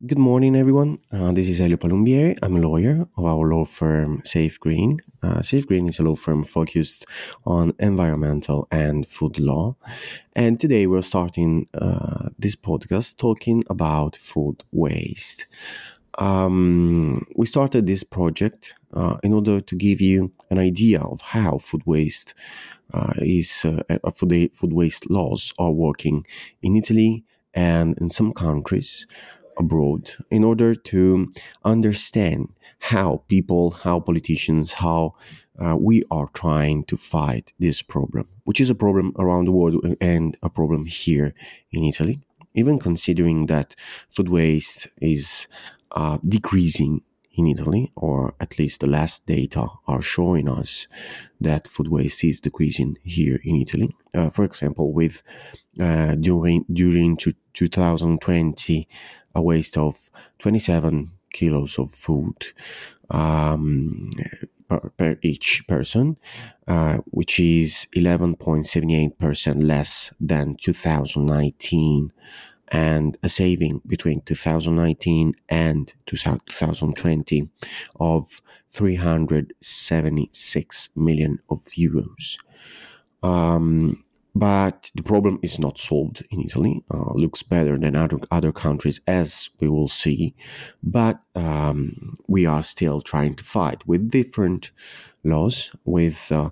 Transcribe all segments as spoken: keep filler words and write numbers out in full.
Good morning, everyone. Uh, this is Elio Palumbieri. I'm a lawyer of our law firm Safe Green. Uh, Safe Green is a law firm focused on environmental and food law. And today we're starting uh, this podcast talking about food waste. Um, we started this project uh, in order to give you an idea of how food waste uh, is, uh, food, food waste laws are working in Italy and in some countries abroad, in order to understand how people, how politicians, how uh, we are trying to fight this problem, which is a problem around the world and a problem here in Italy, even considering that food waste is uh, decreasing in Italy, or at least the last data are showing us that food waste is decreasing here in Italy. Uh, for example, with uh, during during to two thousand twenty, a waste of twenty-seven kilos of food um, per, per each person, uh, which is eleven point seven eight percent less than two thousand nineteen, and a saving between two thousand nineteen and two thousand twenty of three hundred seventy-six million of euros. Um, but the problem is not solved in Italy. Uh, looks better than other other countries, as we will see. But um, we are still trying to fight with different laws, with uh,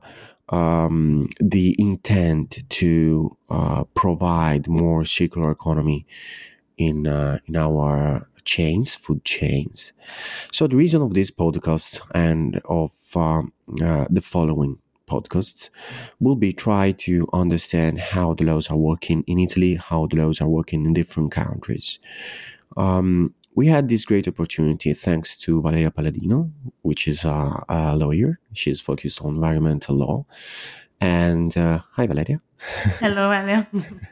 um, the intent to uh, provide more circular economy in uh, in our chains, food chains. So the reason of this podcast and of um, uh, the following podcasts will be try to understand how the laws are working in Italy, how the laws are working in different countries. Um, we had this great opportunity thanks to Valeria Palladino, which is a, a lawyer. She is focused on environmental law. And uh, hi, Valeria. Hello, Elio.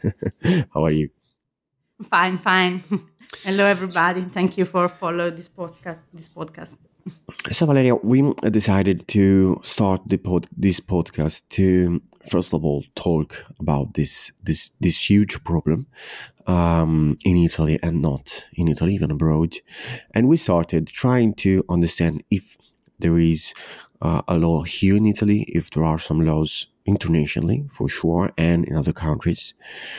How are you? Fine, fine. Hello, everybody. Thank you for following this podcast. This podcast. So, Valeria, we decided to start the pod, this podcast to first of all talk about this this this huge problem um, in Italy, and not in Italy, even abroad. And we started trying to understand if there is uh, a law here in Italy, if there are some laws internationally for sure, and in other countries.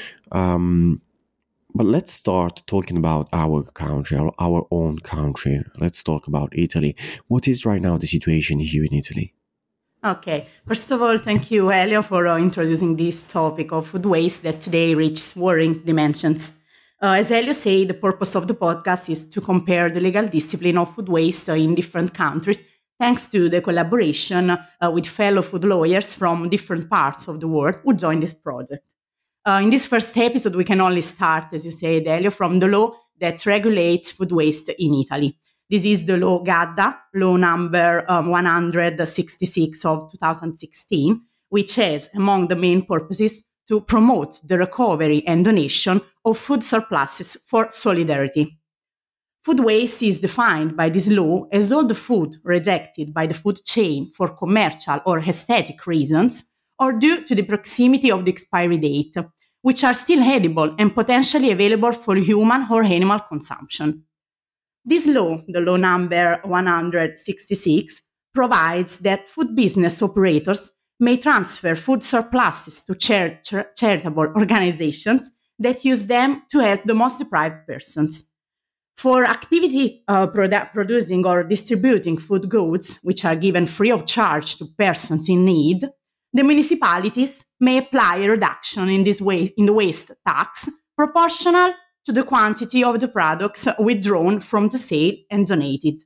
Um, But let's start talking about our country, our, our own country. Let's talk about Italy. What is right now the situation here in Italy? Okay. First of all, thank you, Elio, for uh, introducing this topic of food waste that today reaches worrying dimensions. Uh, as Elio said, the purpose of the podcast is to compare the legal discipline of food waste uh, in different countries, thanks to the collaboration uh, with fellow food lawyers from different parts of the world who joined this project. Uh, in this first episode, we can only start, as you said, Elio, from the law that regulates food waste in Italy. This is the law GADDA, law number um, one hundred sixty-six of two thousand sixteen, which has, among the main purposes, to promote the recovery and donation of food surpluses for solidarity. Food waste is defined by this law as all the food rejected by the food chain for commercial or aesthetic reasons, or due to the proximity of the expiry date, which are still edible and potentially available for human or animal consumption. This law, the law number one hundred sixty-six, provides that food business operators may transfer food surpluses to char- char- charitable organizations that use them to help the most deprived persons. For activities uh, produ- producing or distributing food goods, which are given free of charge to persons in need, the municipalities may apply a reduction in, this wa- in the waste tax proportional to the quantity of the products withdrawn from the sale and donated.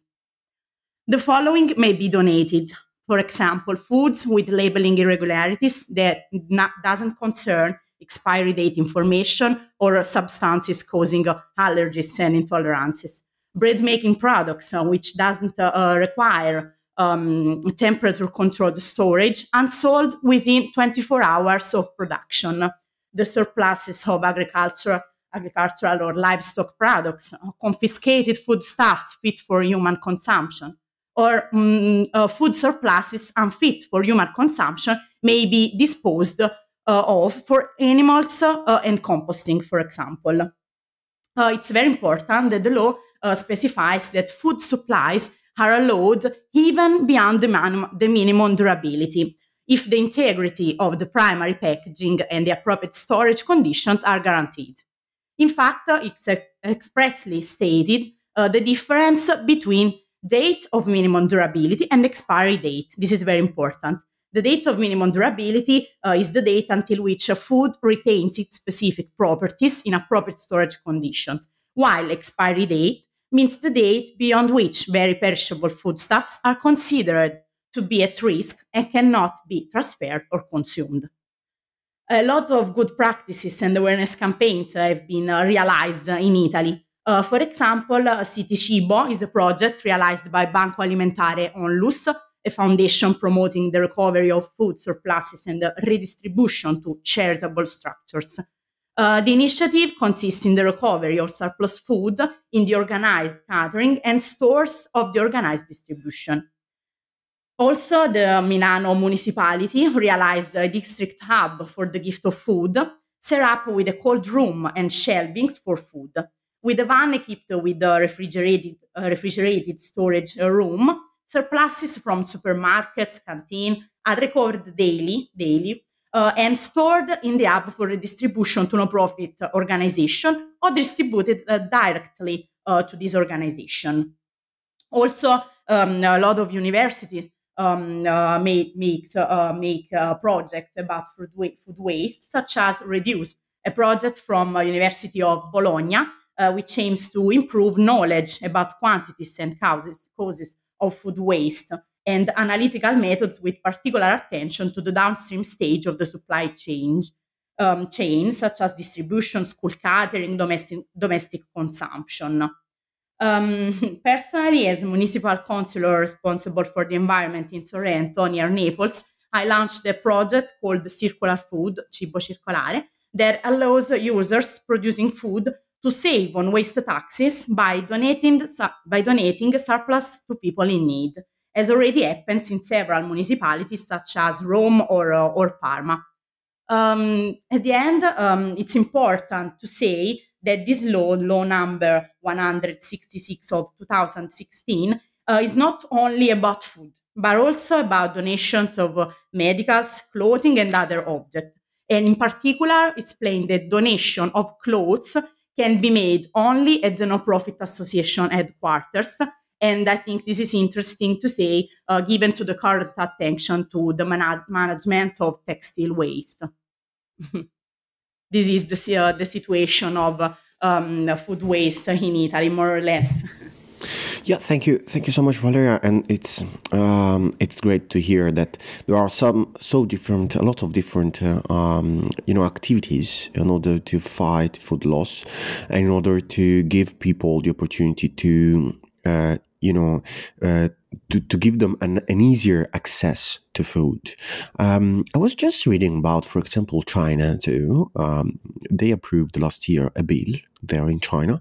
The following may be donated. For example, foods with labeling irregularities that not, doesn't concern expiry date information or substances causing uh, allergies and intolerances. Bread making products, uh, which doesn't uh, uh, require um, temperature controlled storage and sold within twenty-four hours of production. The surpluses of agricultural, agricultural or livestock products, uh, confiscated foodstuffs fit for human consumption, or um, uh, food surpluses unfit for human consumption may be disposed uh, of for animals uh, and composting, for example. Uh, it's very important that the law uh, specifies that food supplies are allowed even beyond the, man- the minimum durability, if the integrity of the primary packaging and the appropriate storage conditions are guaranteed. In fact, uh, it's uh, expressly stated uh, the difference between date of minimum durability and expiry date. This is very important. The date of minimum durability uh, is the date until which a food retains its specific properties in appropriate storage conditions, while expiry date means the date beyond which very perishable foodstuffs are considered to be at risk and cannot be transferred or consumed. A lot of good practices and awareness campaigns have been uh, realized in Italy. Uh, for example, uh, City Cibo is a project realized by Banco Alimentare Onlus, a foundation promoting the recovery of food surpluses and the redistribution to charitable structures. Uh, the initiative consists in the recovery of surplus food in the organized catering and stores of the organized distribution. Also, the Milano municipality realized a district hub for the gift of food, set up with a cold room and shelvings for food. With a van equipped with a refrigerated, uh, refrigerated storage uh, room, surpluses from supermarkets, canteen are recovered daily, daily uh, and stored in the hub for redistribution to non-profit organization or distributed uh, directly uh, to this organization. Also, um, a lot of universities um, uh, make make, uh, make a project about food, wa- food waste, such as Reduce, a project from uh, University of Bologna, uh, which aims to improve knowledge about quantities and causes causes of food waste and analytical methods with particular attention to the downstream stage of the supply chain, um, chain such as distribution, school catering, domestic, domestic consumption. Um, personally, as municipal councillor responsible for the environment in Sorrento, near Naples, I launched a project called Circular Food, Cibo Circolare, that allows users producing food to save on waste taxes by donating, by donating surplus to people in need, as already happens in several municipalities such as Rome or, uh, or Parma. Um, at the end, um, it's important to say that this law, law number one hundred sixty-six of two thousand sixteen, uh, is not only about food, but also about donations of uh, medicals, clothing, and other objects. And in particular, it's plain that donation of clothes can be made only at the non-profit association headquarters. And I think this is interesting to say, uh, given to the current attention to the man- management of textile waste. This is the, uh, the situation of um, food waste in Italy, more or less. Yeah, thank you, thank you so much, Valeria. And it's um, it's great to hear that there are some so different, a lot of different, uh, um, you know, activities in order to fight food loss, and in order to give people the opportunity to, uh, you know, uh, to to give them an, an easier access to food. Um, I was just reading about, for example, China too. Um, they approved last year a bill there in China,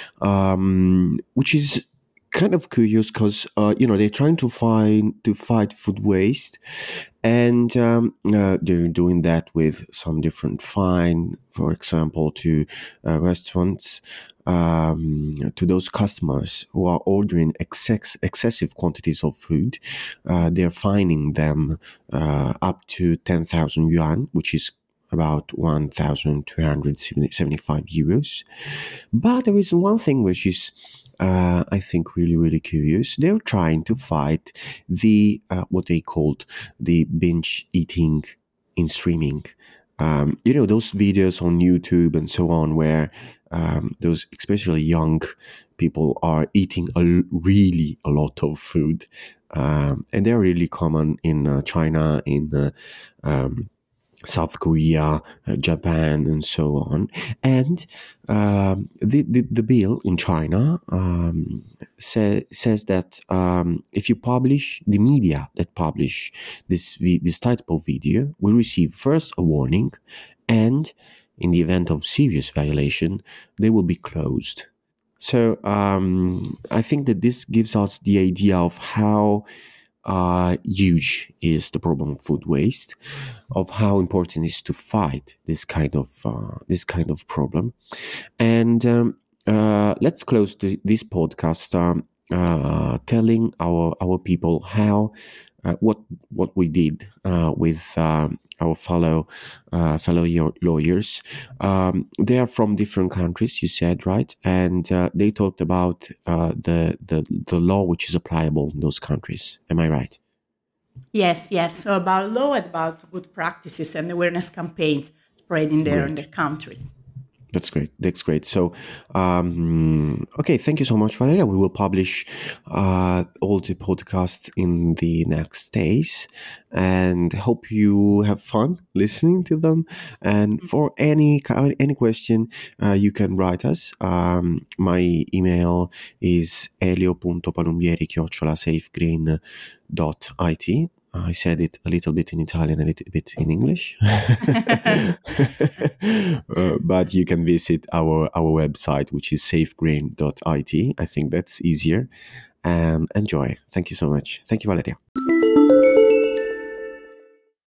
um, which is kind of curious because uh, you know they're trying to find to fight food waste, and um, uh, they're doing that with some different fine, for example, to uh, restaurants, um, to those customers who are ordering excess, excessive quantities of food. Uh, they're fining them uh, up to ten thousand yuan, which is about one thousand two hundred seventy-five euros. But there is one thing which is uh, I think really, really curious. They're trying to fight the uh, what they called the binge eating in streaming. Um, you know, those videos on YouTube and so on, where um, those especially young people are eating a really a lot of food, um, and they're really common in uh, China, in uh, um, South Korea, uh, Japan, and so on. And um, the, the the bill in China um, say, says that um, if you publish, the media that publish this this type of video will receive first a warning, and in the event of serious violation, they will be closed. So um, I think that this gives us the idea of how uh, huge is the problem of food waste, of how important it is to fight this kind of uh, this kind of problem. And um, uh, let's close the, this podcast um, uh, telling our our people how uh, what what we did uh, with um, our fellow uh, fellow yo- lawyers. Um, they are from different countries, you said, right? And uh, they talked about uh, the the the law which is applicable in those countries. Am I right? Yes, yes. So about law, about good practices and awareness campaigns spreading there in Great. their countries. That's great. That's great. So, um, okay, thank you so much, Valeria. We will publish uh, all the podcasts in the next days, and hope you have fun listening to them. And for any ki- any question, uh, you can write us. Um, my email is elio.palumbieri chiocciola safegreen dot it. I said it a little bit in Italian, a little bit in English. uh, but you can visit our, our website, which is safegreen dot it. I think that's easier. And enjoy. Thank you so much. Thank you, Valeria.